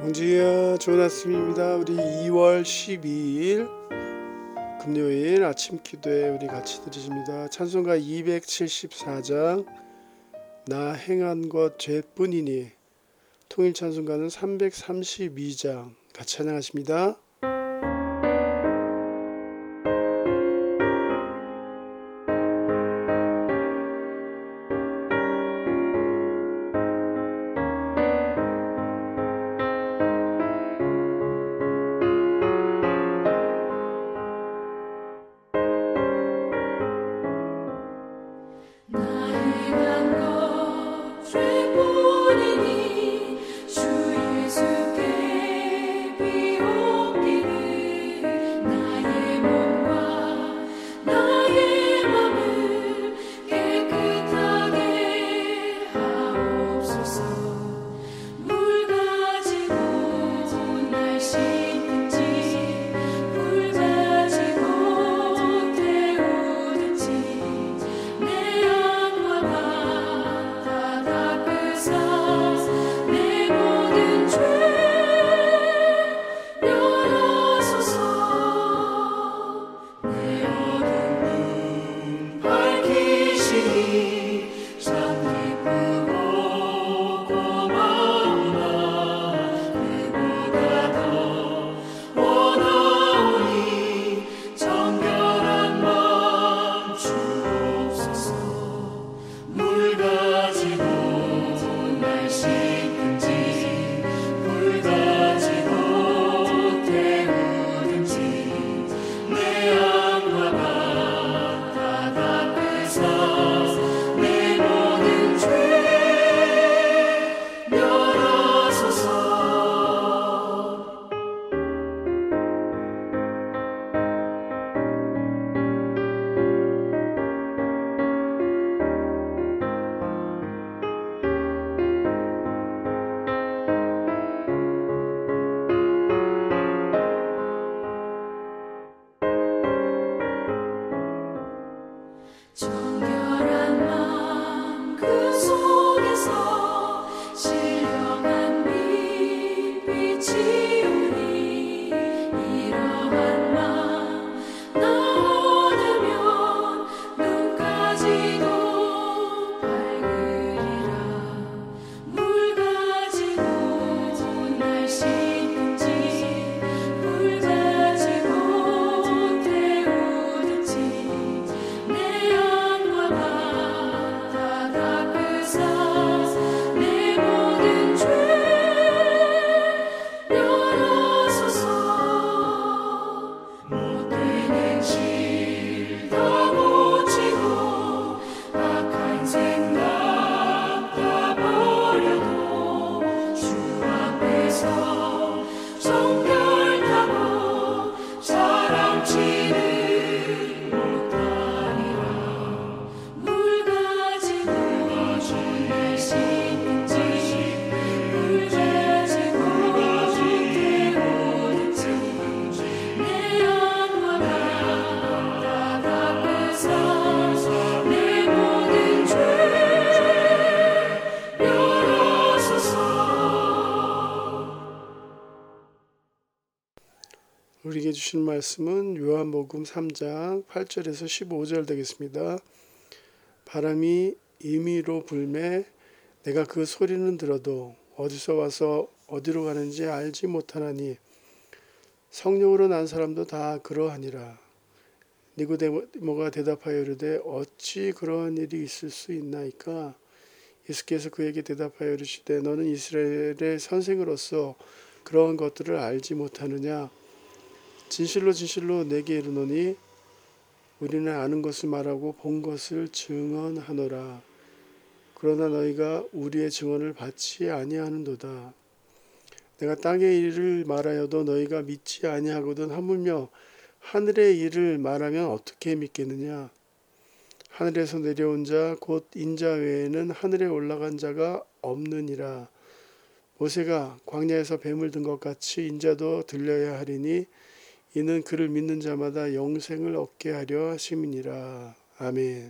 봉지야, 좋은 아침입니다. 우리 2월 12일 금요일 아침 기도에 우리 같이 드리십니다. 찬송가 274장 나 행한 것 죄뿐이니, 통일 찬송가는 332장 같이 찬양하십니다. 우리에게 주신 말씀은 요한복음 3장 8절에서 15절 되겠습니다. 바람이 임의로 불매 내가 그 소리는 들어도 어디서 와서 어디로 가는지 알지 못하나니 성령으로 난 사람도 다 그러하니라. 니고데모가 대답하여 이르되 어찌 그러한 일이 있을 수 있나이까? 예수께서 그에게 대답하여 이르시되 너는 이스라엘의 선생으로서 그러한 것들을 알지 못하느냐? 진실로 진실로 내게 이르노니 우리는 아는 것을 말하고 본 것을 증언하노라. 그러나 너희가 우리의 증언을 받지 아니하는도다. 내가 땅의 일을 말하여도 너희가 믿지 아니하거든 하물며 하늘의 일을 말하면 어떻게 믿겠느냐? 하늘에서 내려온 자 곧 인자 외에는 하늘에 올라간 자가 없느니라. 모세가 광야에서 뱀을 든 것 같이 인자도 들려야 하리니 이는 그를 믿는 자마다 영생을 얻게 하려 하심이니라. 아멘.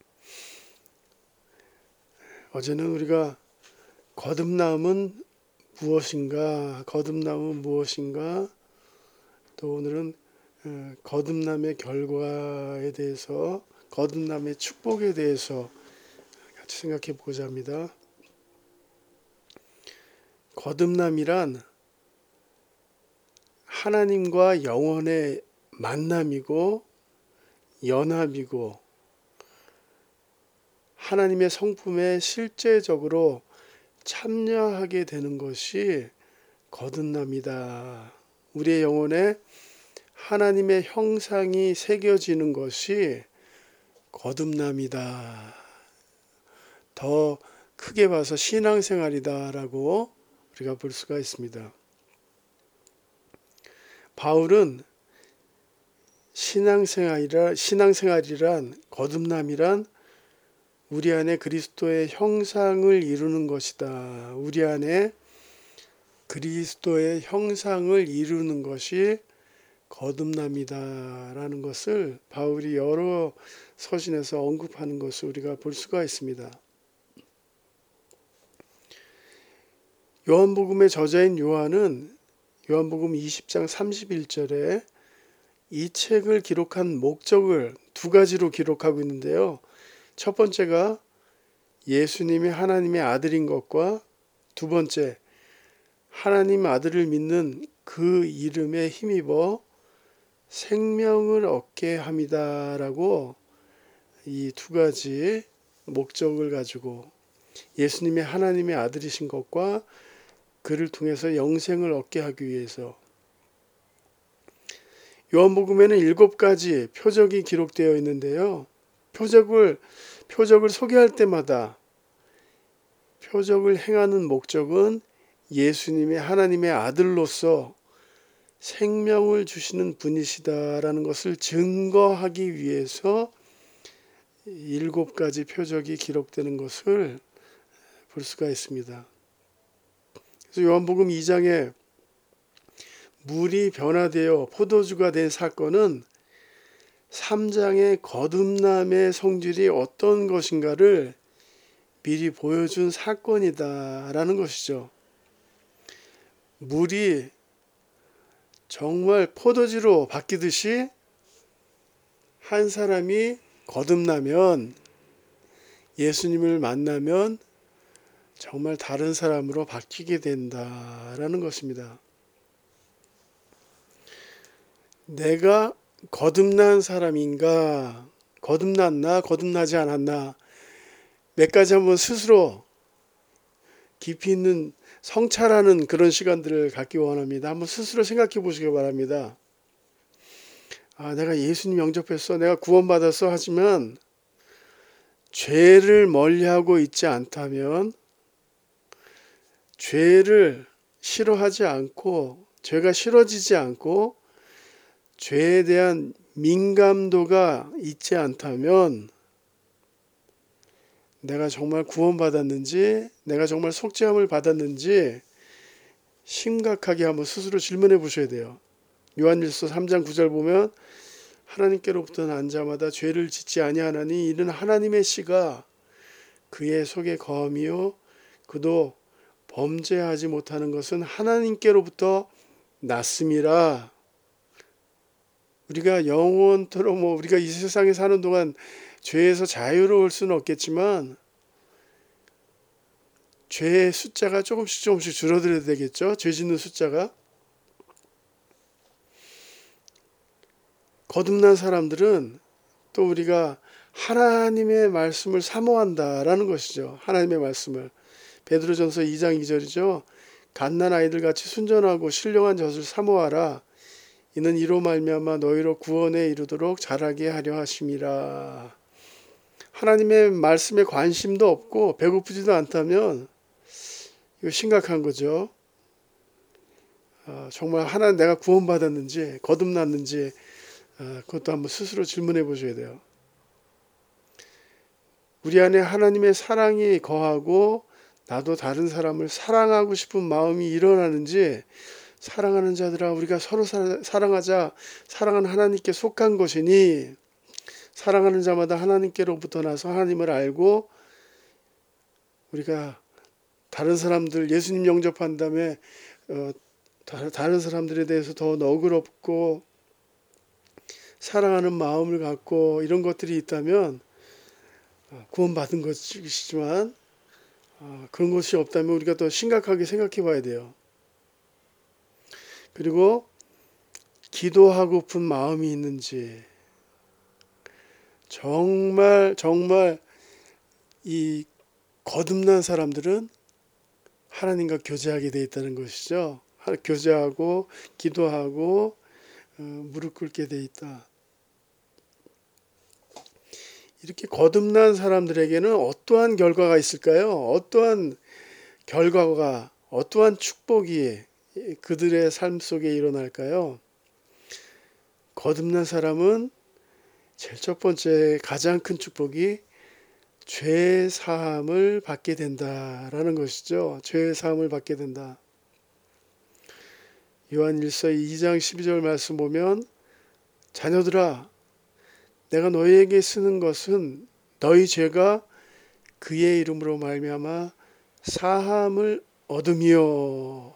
어제는 우리가 거듭남은 무엇인가, 거듭남은 무엇인가, 또 오늘은 거듭남의 결과에 대해서, 거듭남의 축복에 대해서 같이 생각해 보고자 합니다. 거듭남이란 하나님과 영원의 만남이고 연합이고 하나님의 성품에 실제적으로 참여하게 되는 것이 거듭남이다. 우리의 영혼에 하나님의 형상이 새겨지는 것이 거듭남이다. 더 크게 봐서 신앙생활이다라고 우리가 볼 수가 있습니다. 바울은 신앙생활이란 거듭남이란 우리 안에 그리스도의 형상을 이루는 것이다. 우리 안에 그리스도의 형상을 이루는 것이 거듭남이다라는 것을 바울이 여러 서신에서 언급하는 것을 우리가 볼 수가 있습니다. 요한복음의 저자인 요한은 요한복음 20장 31절에 이 책을 기록한 목적을 두 가지로 기록하고 있는데요. 첫 번째가 예수님이 하나님의 아들인 것과 두 번째 하나님 아들을 믿는 그 이름에 힘입어 생명을 얻게 함이다라고 이 두 가지 목적을 가지고 예수님이 하나님의 아들이신 것과 그를 통해서 영생을 얻게 하기 위해서 요한복음에는 7가지 표적이 기록되어 있는데요. 표적을 소개할 때마다 표적을 행하는 목적은 예수님이 하나님의 아들로서 생명을 주시는 분이시다라는 것을 증거하기 위해서 7가지 표적이 기록되는 것을 볼 수가 있습니다. 그래서 요한복음 2장에 물이 변화되어 포도주가 된 사건은 3장의 거듭남의 성질이 어떤 것인가를 미리 보여준 사건이다라는 것이죠. 물이 정말 포도주로 바뀌듯이 한 사람이 거듭나면 예수님을 만나면 정말 다른 사람으로 바뀌게 된다라는 것입니다. 내가 거듭난 사람인가, 거듭났나, 거듭나지 않았나, 몇 가지 한번 스스로 깊이 있는 성찰하는 그런 시간들을 갖기 원합니다. 한번 스스로 생각해 보시기 바랍니다. 내가 예수님 영접했어, 내가 구원받았어 하지만 죄를 멀리하고 있지 않다면, 죄를 싫어하지 않고, 죄가 싫어지지 않고 죄에 대한 민감도가 있지 않다면 내가 정말 구원받았는지, 내가 정말 속죄함을 받았는지 심각하게 한번 스스로 질문해 보셔야 돼요. 요한일서 3장 9절 보면 하나님께로부터 난 자마다 죄를 짓지 아니하나니 이는 하나님의 씨가 그의 속에 거함이요 그도 범죄하지 못하는 것은 하나님께로부터 났음이라. 우리가 영원토록 우리가 이 세상에 사는 동안 죄에서 자유로울 수는 없겠지만 죄의 숫자가 조금씩 줄어들어야 되겠죠. 죄 짓는 숫자가. 거듭난 사람들은 또 우리가 하나님의 말씀을 사모한다라는 것이죠. 하나님의 말씀을. 베드로전서 2장 2절이죠. 갓난 아이들 같이 순전하고 신령한 젖을 사모하라. 이는 이로 말미암아 너희로 구원에 이르도록 자라게 하려 하심이라. 하나님의 말씀에 관심도 없고 배고프지도 않다면 이거 심각한 거죠. 정말 하나님 내가 구원받았는지 거듭났는지 그것도 한번 스스로 질문해 보셔야 돼요. 우리 안에 하나님의 사랑이 거하고 나도 다른 사람을 사랑하고 싶은 마음이 일어나는지, 사랑하는 자들아 우리가 서로 사랑하자. 사랑은 하나님께 속한 것이니 사랑하는 자마다 하나님께로부터 나서 하나님을 알고 우리가 다른 사람들 예수님 영접한 다음에 다른 사람들에 대해서 더 너그럽고 사랑하는 마음을 갖고 이런 것들이 있다면 구원받은 것이지만 그런 것이 없다면 우리가 더 심각하게 생각해 봐야 돼요. 그리고 기도하고픈 마음이 있는지 정말 이 거듭난 사람들은 하나님과 교제하게 돼 있다는 것이죠. 교제하고 기도하고 무릎 꿇게 돼 있다. 이렇게 거듭난 사람들에게는 어떠한 결과가 있을까요? 어떠한 결과가, 어떠한 축복이 그들의 삶 속에 일어날까요? 거듭난 사람은 제일 첫 번째 가장 큰 축복이 죄 사함을 받게 된다라는 것이죠. 죄 사함을 받게 된다. 요한일서 2장 12절 말씀 보면 자녀들아 내가 너희에게 쓰는 것은 너희 죄가 그의 이름으로 말미암아 사함을 얻음이요.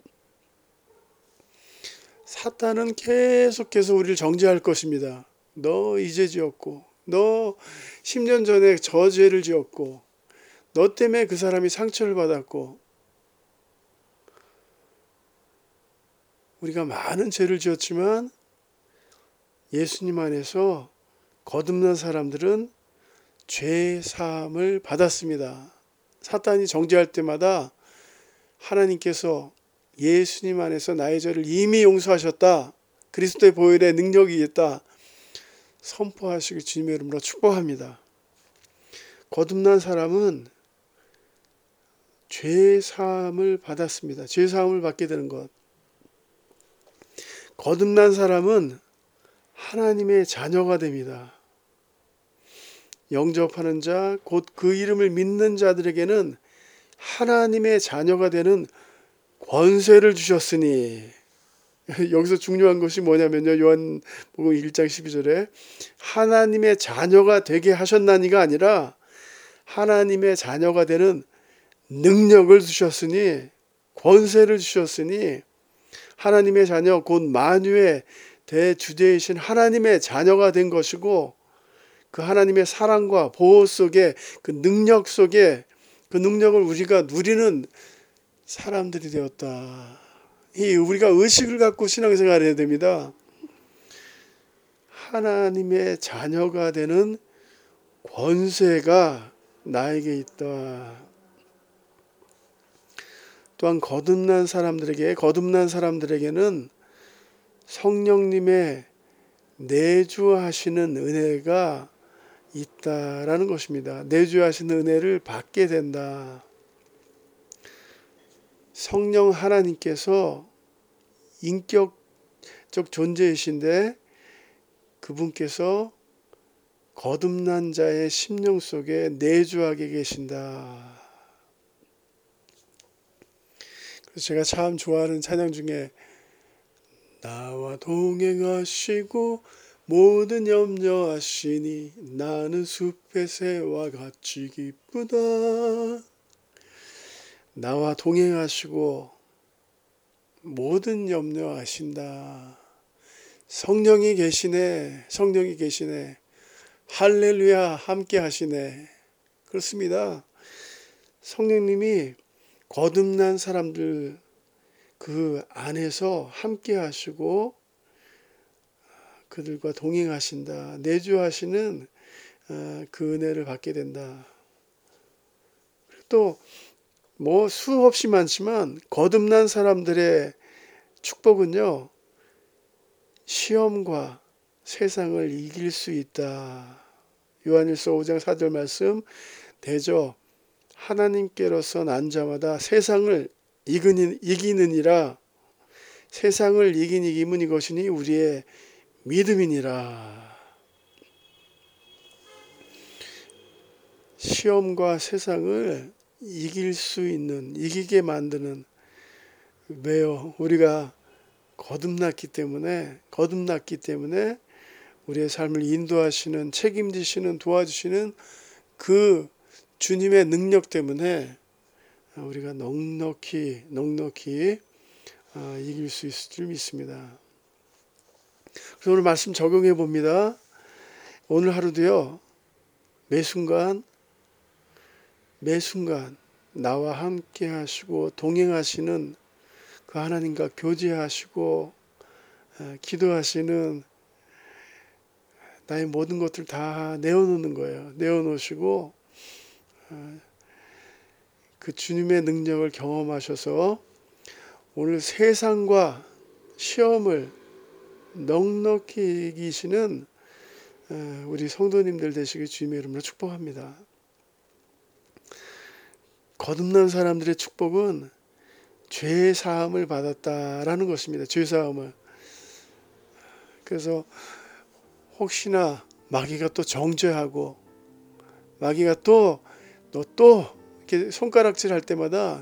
사탄은 계속해서 우리를 정죄할 것입니다. 너 이제 지었고 너 10년 전에 저 죄를 지었고 너 때문에 그 사람이 상처를 받았고 우리가 많은 죄를 지었지만 예수님 안에서 거듭난 사람들은 죄 사함을 받았습니다. 사탄이 정죄할 때마다 하나님께서 예수님 안에서 나의 죄를 이미 용서하셨다. 그리스도의 보혈의 능력이 있다. 선포하시길 주님의 이름으로 축복합니다. 거듭난 사람은 죄 사함을 받았습니다. 죄 사함을 받게 되는 것. 거듭난 사람은 하나님의 자녀가 됩니다. 영접하는 자, 곧 그 이름을 믿는 자들에게는 하나님의 자녀가 되는 권세를 주셨으니 여기서 중요한 것이 뭐냐면요. 요한복음 1장 12절에 하나님의 자녀가 되게 하셨나니가 아니라 하나님의 자녀가 되는 능력을 주셨으니 권세를 주셨으니 하나님의 자녀 곧 만유의 대주제이신 하나님의 자녀가 된 것이고 그 하나님의 사랑과 보호 속에 그 능력 속에 그 능력을 우리가 누리는 사람들이 되었다. 우리가 의식을 갖고 신앙생활을 해야 됩니다. 하나님의 자녀가 되는 권세가 나에게 있다. 또한 거듭난 사람들에게는 성령님의 내주하시는 은혜가 있다라는 것입니다. 내주하시는 은혜를 받게 된다. 성령 하나님께서 인격적 존재이신데 그분께서 거듭난 자의 심령 속에 내주하게 계신다. 그래서 제가 참 좋아하는 찬양 중에 나와 동행하시고 모든 염려하시니 나는 숲의 새와 같이 기쁘다. 나와 동행하시고 모든 염려하신다. 성령이 계시네. 할렐루야 함께 하시네. 그렇습니다. 성령님이 거듭난 사람들 그 안에서 함께 하시고 그들과 동행하신다. 내주하시는 그 은혜를 받게 된다. 또 수없이 많지만 거듭난 사람들의 축복은요. 시험과 세상을 이길 수 있다. 요한일서 5장 4절 말씀 대저 하나님께로서 난 자마다 세상을 이기느니라. 세상을 이긴 이김은 이것이니 우리의 믿음이니라. 시험과 세상을 이기게 만드는 왜요? 우리가 거듭났기 때문에 우리의 삶을 인도하시는 책임지시는 도와주시는 그 주님의 능력 때문에 우리가 넉넉히 이길 수 있을 줄 믿습니다. 그래서 오늘 말씀 적용해 봅니다. 오늘 하루도요, 매 순간 나와 함께 하시고 동행하시는 그 하나님과 교제하시고 기도하시는 나의 모든 것들 다 내어놓는 거예요. 내어놓으시고 그 주님의 능력을 경험하셔서 오늘 세상과 시험을 넉넉히 이기시는 우리 성도님들 되시길 주님의 이름으로 축복합니다. 거듭난 사람들의 축복은 죄 사함을 받았다라는 것입니다. 죄 사함을. 그래서 혹시나 마귀가 또 정죄하고 마귀가 또 이렇게 손가락질 할 때마다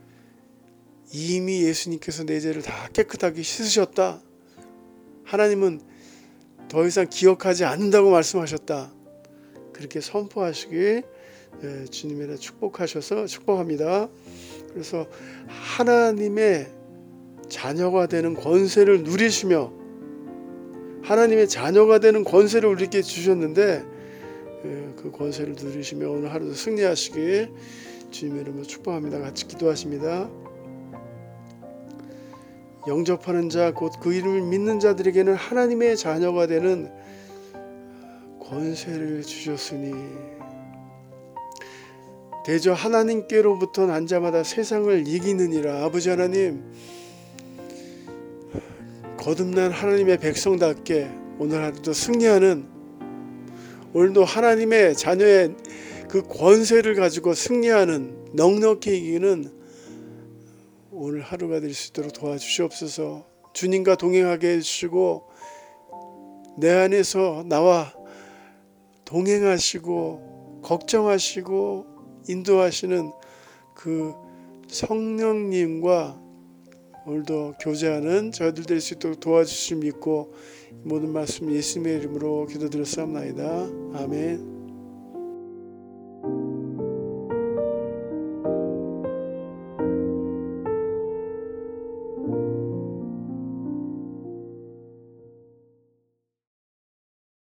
이미 예수님께서 내 죄를 다 깨끗하게 씻으셨다. 하나님은 더 이상 기억하지 않는다고 말씀하셨다. 그렇게 선포하시길 주님의 이름으로 축복합니다. 그래서 하나님의 자녀가 되는 권세를 누리시며 하나님의 자녀가 되는 권세를 우리에게 주셨는데 그 권세를 누리시며 오늘 하루도 승리하시길 주님의 이름으로 축복합니다. 같이 기도하십니다. 영접하는 자 곧 그 이름을 믿는 자들에게는 하나님의 자녀가 되는 권세를 주셨으니 대저 하나님께로부터 난 자마다 세상을 이기느니라. 아버지 하나님, 거듭난 하나님의 백성답게 오늘 하루도 승리하는, 오늘도 하나님의 자녀의 그 권세를 가지고 승리하는, 넉넉히 이기는 오늘 하루가 될 수 있도록 도와주시옵소서. 주님과 동행하게 해주시고 내 안에서 나와 동행하시고 걱정하시고 인도하시는 그 성령님과 오늘도 교제하는 저희들 될 수 있도록 도와주실 믿고 모든 말씀 예수님의 이름으로 기도드렸사옵나이다. 아멘.